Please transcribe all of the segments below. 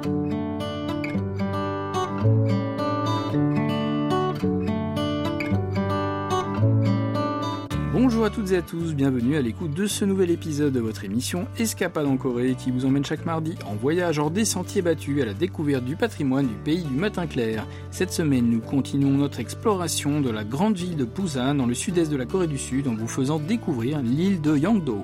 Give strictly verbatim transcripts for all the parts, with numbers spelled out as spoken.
Bonjour à toutes et à tous, bienvenue à l'écoute de ce nouvel épisode de votre émission Escapade en Corée qui vous emmène chaque mardi en voyage hors des sentiers battus à la découverte du patrimoine du pays du matin clair. Cette semaine, nous continuons notre exploration de la grande ville de Busan dans le sud-est de la Corée du Sud en vous faisant découvrir l'île de Yeongdo.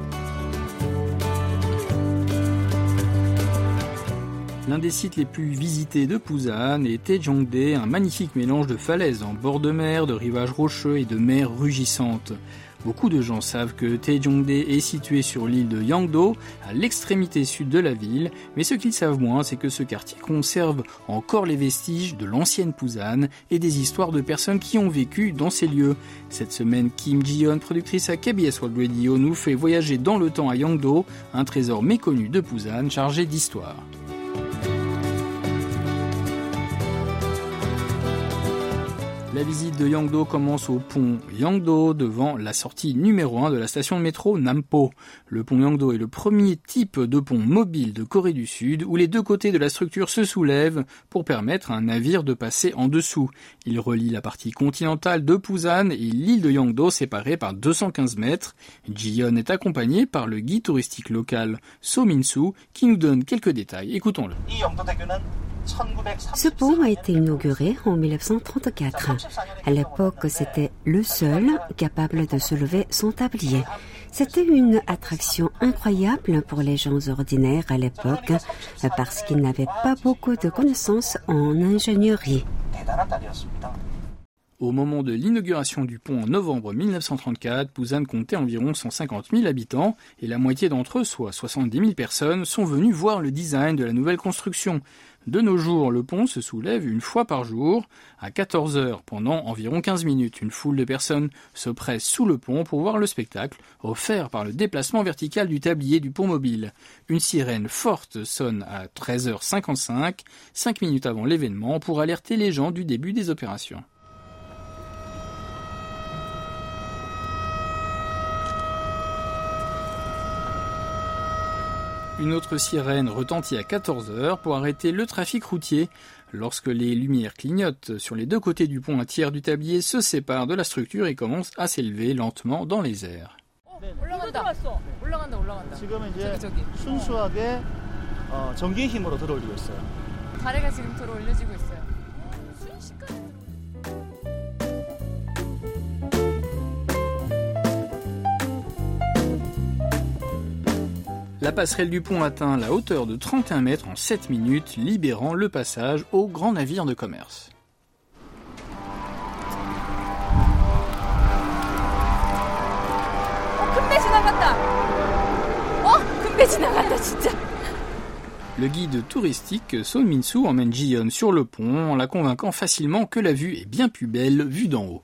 L'un des sites les plus visités de Busan est Taejongdae, un magnifique mélange de falaises en bord de mer, de rivages rocheux et de mer rugissante. Beaucoup de gens savent que Taejongdae est situé sur l'île de Yeongdo, à l'extrémité sud de la ville, mais ce qu'ils savent moins, c'est que ce quartier conserve encore les vestiges de l'ancienne Busan et des histoires de personnes qui ont vécu dans ces lieux. Cette semaine, Kim Ji-yeon, productrice à K B S World Radio, nous fait voyager dans le temps à Yeongdo, un trésor méconnu de Busan chargé d'histoire. La visite de Yeongdo commence au pont Yeongdo devant la sortie numéro un de la station de métro Nampo. Le pont Yeongdo est le premier type de pont mobile de Corée du Sud où les deux côtés de la structure se soulèvent pour permettre à un navire de passer en dessous. Il relie la partie continentale de Busan et l'île de Yeongdo séparée par deux cent quinze mètres. Ji-yeon est accompagné par le guide touristique local So Min-soo qui nous donne quelques détails. Écoutons-le. Ce pont a été inauguré en dix-neuf cent trente-quatre. À l'époque, c'était le seul capable de soulever son tablier. C'était une attraction incroyable pour les gens ordinaires à l'époque parce qu'ils n'avaient pas beaucoup de connaissances en ingénierie. Au moment de l'inauguration du pont en novembre dix-neuf cent trente-quatre, Busan comptait environ cent cinquante mille habitants et la moitié d'entre eux, soit soixante-dix mille personnes, sont venus voir le design de la nouvelle construction. De nos jours, le pont se soulève une fois par jour, à quatorze heures, pendant environ quinze minutes. Une foule de personnes se presse sous le pont pour voir le spectacle offert par le déplacement vertical du tablier du pont mobile. Une sirène forte sonne à treize heures cinquante-cinq, cinq minutes avant l'événement, pour alerter les gens du début des opérations. Une autre sirène retentit à quatorze heures pour arrêter le trafic routier. Lorsque les lumières clignotent sur les deux côtés du pont, un tiers du tablier se sépare de la structure et commence à s'élever lentement dans les airs. La passerelle du pont atteint la hauteur de trente et un mètres en sept minutes, libérant le passage aux grands navires de commerce. Le guide touristique So Min-soo emmène Ji-yeon sur le pont en la convainquant facilement que la vue est bien plus belle vue d'en haut.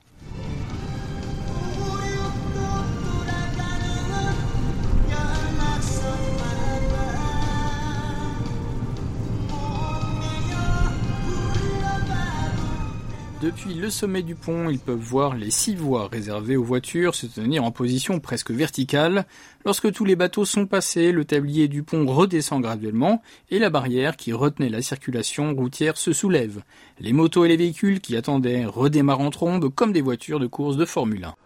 Depuis le sommet du pont, ils peuvent voir les six voies réservées aux voitures se tenir en position presque verticale. Lorsque tous les bateaux sont passés, le tablier du pont redescend graduellement et la barrière qui retenait la circulation routière se soulève. Les motos et les véhicules qui attendaient redémarrent en trombe comme des voitures de course de Formule un.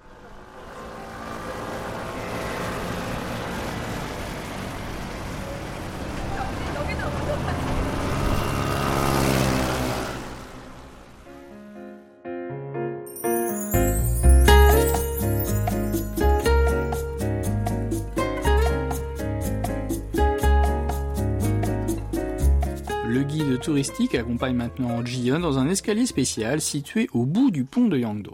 Le guide touristique accompagne maintenant Ji-yeon dans un escalier spécial situé au bout du pont de Yeongdo.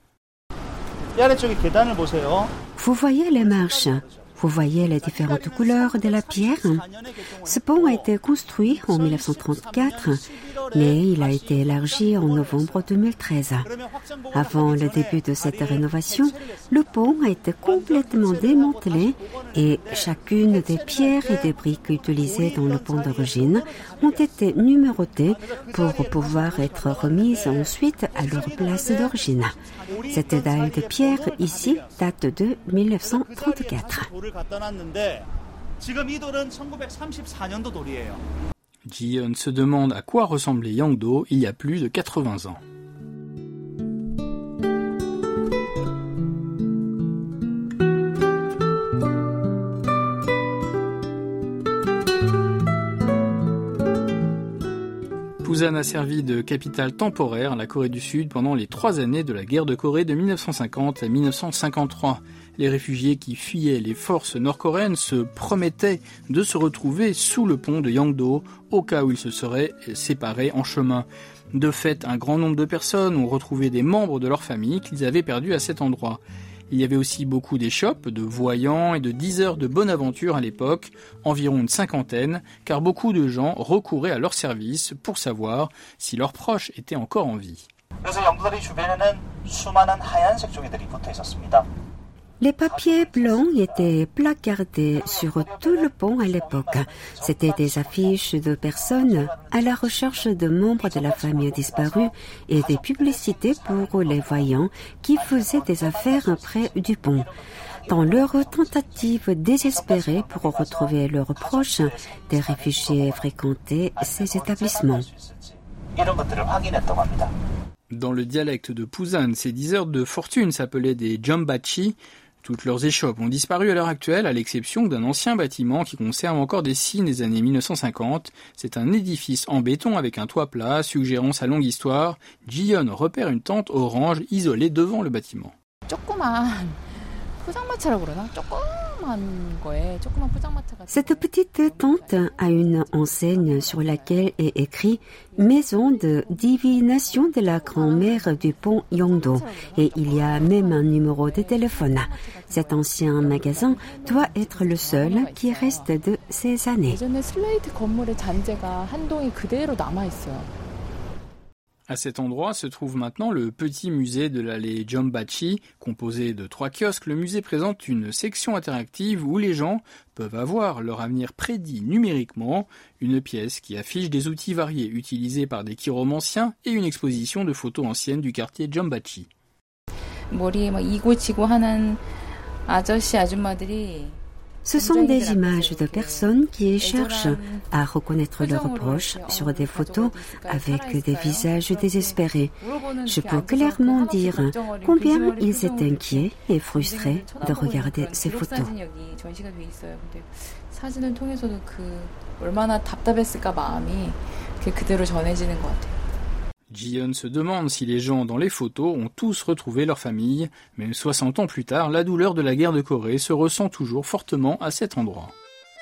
Vous voyez les marches, vous voyez les différentes couleurs de la pierre. Ce pont a été construit en dix-neuf cent trente-quatre, mais il a été élargi en novembre deux mille treize. Avant le début de cette rénovation, le pont a été complètement démantelé et chacune des pierres et des briques utilisées dans le pont d'origine ont été numérotées pour pouvoir être remises ensuite à leur place d'origine. Cette dalle de pierre ici date de dix-neuf cent trente-quatre. Ji-yeon se demande à quoi ressemblait Yang-do il y a plus de quatre-vingts ans. Pusan a servi de capitale temporaire à la Corée du Sud pendant les trois années de la guerre de Corée de dix-neuf cent cinquante à dix-neuf cent cinquante-trois. Les réfugiés qui fuyaient les forces nord-coréennes se promettaient de se retrouver sous le pont de Yang-do au cas où ils se seraient séparés en chemin. De fait, un grand nombre de personnes ont retrouvé des membres de leur famille qu'ils avaient perdus à cet endroit. Il y avait aussi beaucoup d'échoppes, de voyants et de diseurs de bonne aventure à l'époque, environ une cinquantaine, car beaucoup de gens recouraient à leur service pour savoir si leurs proches étaient encore en vie. Les papiers blancs étaient placardés sur tout le pont à l'époque. C'étaient des affiches de personnes à la recherche de membres de la famille disparue et des publicités pour les voyants qui faisaient des affaires près du pont. Dans leur tentative désespérée pour retrouver leurs proches, des réfugiés fréquentaient ces établissements. Dans le dialecte de Pusan, ces diseurs de fortune s'appelaient des jombachi. Toutes leurs échoppes ont disparu à l'heure actuelle, à l'exception d'un ancien bâtiment qui conserve encore des signes des années mille neuf cent cinquante. C'est un édifice en béton avec un toit plat, suggérant sa longue histoire. Ji-yeon repère une tente orange isolée devant le bâtiment. Cette petite tente a une enseigne sur laquelle est écrit « Maison de divination de la grand-mère du pont Yang-do » et il y a même un numéro de téléphone. Cet ancien magasin doit être le seul qui reste de ces années. À cet endroit se trouve maintenant le petit musée de l'allée Jombachi. Composé de trois kiosques, le musée présente une section interactive où les gens peuvent avoir leur avenir prédit numériquement, une pièce qui affiche des outils variés utilisés par des chiromanciens et une exposition de photos anciennes du quartier Jombachi. Ce sont des images de personnes qui cherchent à reconnaître leurs proches sur des photos avec des visages désespérés. Je peux clairement dire combien ils étaient inquiets et frustrés de regarder ces photos. Ji-yeon se demande si les gens dans les photos ont tous retrouvé leur famille. Même soixante ans plus tard, la douleur de la guerre de Corée se ressent toujours fortement à cet endroit.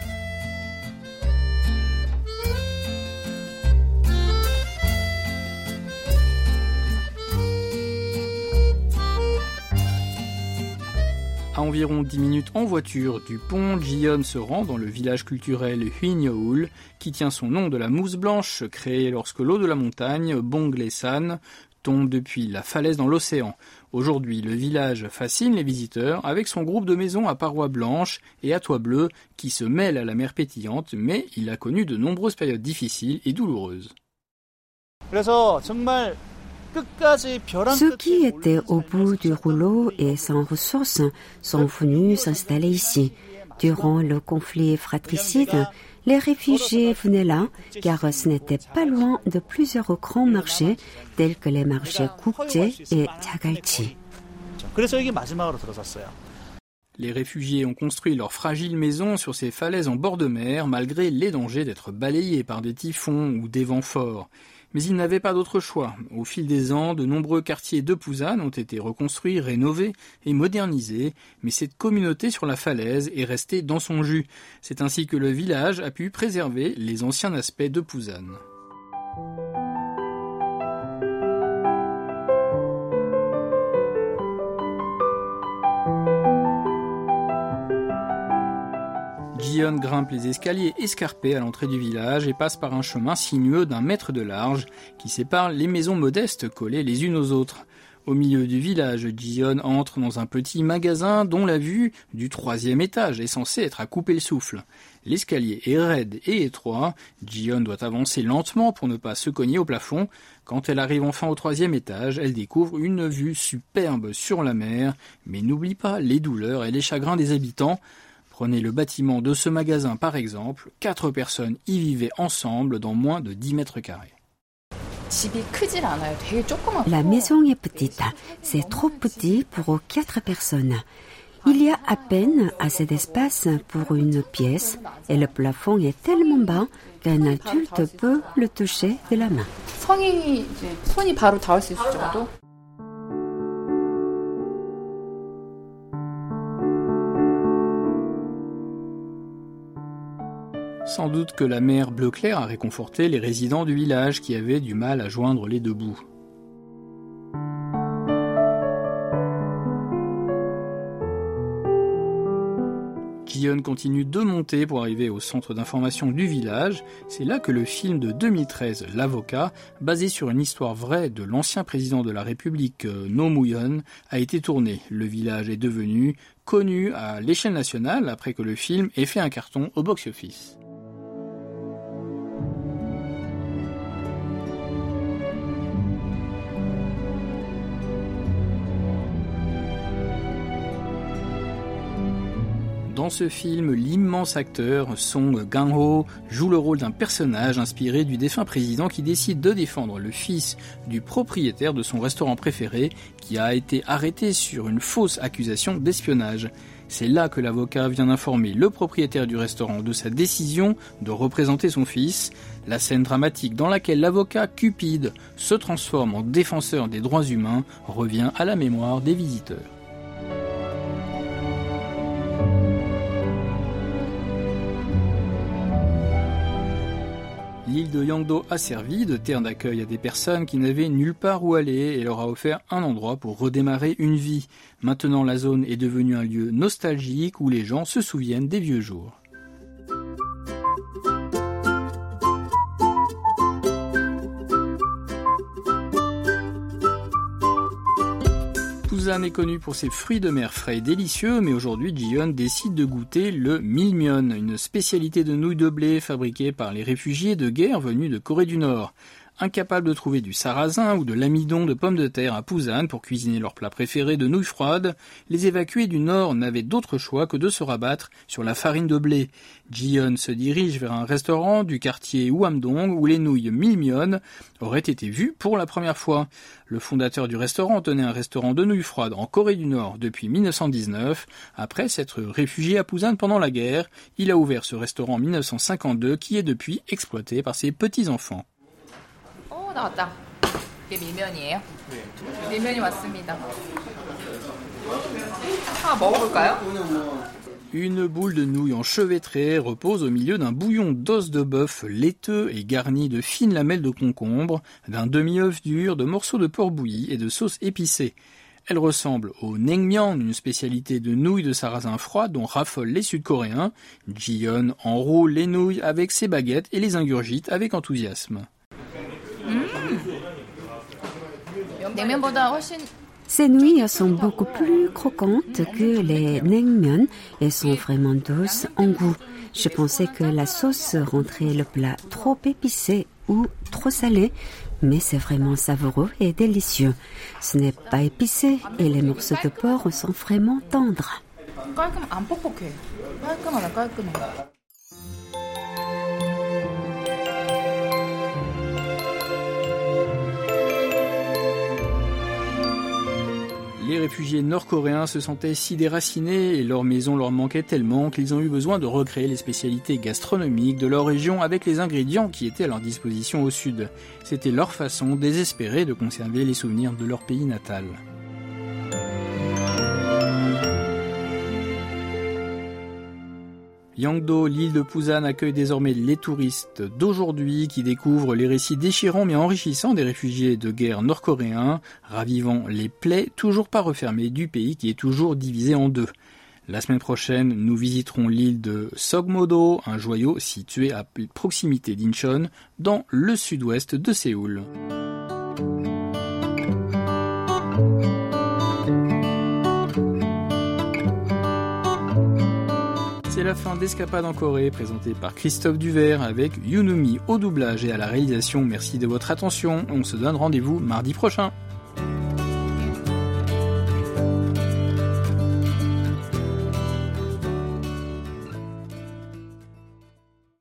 À environ dix minutes en voiture du pont, Ji-yeon se rend dans le village culturel Hwinyeol, qui tient son nom de la mousse blanche créée lorsque l'eau de la montagne, Bonglesan, tombe depuis la falaise dans l'océan. Aujourd'hui, le village fascine les visiteurs avec son groupe de maisons à parois blanches et à toit bleu qui se mêlent à la mer pétillante, mais il a connu de nombreuses périodes difficiles et douloureuses. Ceux qui étaient au bout du rouleau et sans ressources sont venus s'installer ici. Durant le conflit fratricide, les réfugiés venaient là car ce n'était pas loin de plusieurs grands marchés tels que les marchés Gukje et Jagalchi. Les réfugiés ont construit leurs fragiles maisons sur ces falaises en bord de mer malgré les dangers d'être balayés par des typhons ou des vents forts. Mais ils n'avaient pas d'autre choix. Au fil des ans, de nombreux quartiers de Pusan ont été reconstruits, rénovés et modernisés, mais cette communauté sur la falaise est restée dans son jus. C'est ainsi que le village a pu préserver les anciens aspects de Pusan. Ji-yeon grimpe les escaliers escarpés à l'entrée du village et passe par un chemin sinueux d'un mètre de large qui sépare les maisons modestes collées les unes aux autres. Au milieu du village, Ji-yeon entre dans un petit magasin dont la vue du troisième étage est censée être à couper le souffle. L'escalier est raide et étroit, Ji-yeon doit avancer lentement pour ne pas se cogner au plafond. Quand elle arrive enfin au troisième étage, elle découvre une vue superbe sur la mer, mais n'oublie pas les douleurs et les chagrins des habitants. Prenez le bâtiment de ce magasin par exemple, quatre personnes y vivaient ensemble dans moins de dix mètres carrés. La maison est petite, c'est trop petit pour quatre personnes. Il y a à peine assez d'espace pour une pièce et le plafond est tellement bas qu'un adulte peut le toucher de la main. Sans doute que la mer bleu clair a réconforté les résidents du village qui avaient du mal à joindre les deux bouts. Ji-yeon continue de monter pour arriver au centre d'information du village. C'est là que le film de deux mille treize, L'Avocat, basé sur une histoire vraie de l'ancien président de la République, Roh Moo-hyun, a été tourné. Le village est devenu connu à l'échelle nationale après que le film ait fait un carton au box-office. Dans ce film, l'immense acteur Song Kang-ho joue le rôle d'un personnage inspiré du défunt président qui décide de défendre le fils du propriétaire de son restaurant préféré qui a été arrêté sur une fausse accusation d'espionnage. C'est là que l'avocat vient d'informer le propriétaire du restaurant de sa décision de représenter son fils. La scène dramatique dans laquelle l'avocat cupide se transforme en défenseur des droits humains revient à la mémoire des visiteurs. L'île de Yangdo a servi de terre d'accueil à des personnes qui n'avaient nulle part où aller et leur a offert un endroit pour redémarrer une vie. Maintenant, la zone est devenue un lieu nostalgique où les gens se souviennent des vieux jours. Busan est connu pour ses fruits de mer frais et délicieux, mais aujourd'hui Ji-yeon décide de goûter le milmyeon, une spécialité de nouilles de blé fabriquée par les réfugiés de guerre venus de Corée du Nord. Incapables de trouver du sarrasin ou de l'amidon de pommes de terre à Busan pour cuisiner leur plat préféré de nouilles froides, les évacués du Nord n'avaient d'autre choix que de se rabattre sur la farine de blé. Ji-yeon se dirige vers un restaurant du quartier Hwamdong où les nouilles milmyeon auraient été vues pour la première fois. Le fondateur du restaurant tenait un restaurant de nouilles froides en Corée du Nord depuis dix-neuf cent dix-neuf. Après s'être réfugié à Busan pendant la guerre, il a ouvert ce restaurant en dix-neuf cent cinquante-deux qui est depuis exploité par ses petits-enfants. 나왔다. 이게 밀면이에요? 네. 밀면이 왔습니다. 아, 먹어볼까요? Une boule de nouilles enchevêtrée repose au milieu d'un bouillon d'os de bœuf laiteux et garni de fines lamelles de concombre, d'un demi-œuf dur, de morceaux de porc bouilli et de sauce épicée. Elle ressemble au naengmyeon, une spécialité de nouilles de sarrasin froid dont raffolent les Sud-Coréens. Ji-yeon enroule les nouilles avec ses baguettes et les ingurgite avec enthousiasme. Ces nouilles sont beaucoup plus croquantes que les naengmyeon et sont vraiment douces en goût. Je pensais que la sauce rendrait le plat trop épicé ou trop salé, mais c'est vraiment savoureux et délicieux. Ce n'est pas épicé et les morceaux de porc sont vraiment tendres. Les réfugiés nord-coréens se sentaient si déracinés et leur maison leur manquait tellement qu'ils ont eu besoin de recréer les spécialités gastronomiques de leur région avec les ingrédients qui étaient à leur disposition au sud. C'était leur façon désespérée de conserver les souvenirs de leur pays natal. Yangdo, l'île de Busan, accueille désormais les touristes d'aujourd'hui qui découvrent les récits déchirants mais enrichissants des réfugiés de guerre nord-coréens, ravivant les plaies toujours pas refermées du pays qui est toujours divisé en deux. La semaine prochaine, nous visiterons l'île de Sogmo-do, un joyau situé à proximité d'Incheon, dans le sud-ouest de Séoul. C'est la fin d'Escapade en Corée, présentée par Christophe Duvert avec Yoonumi au doublage et à la réalisation. Merci de votre attention. On se donne rendez-vous mardi prochain.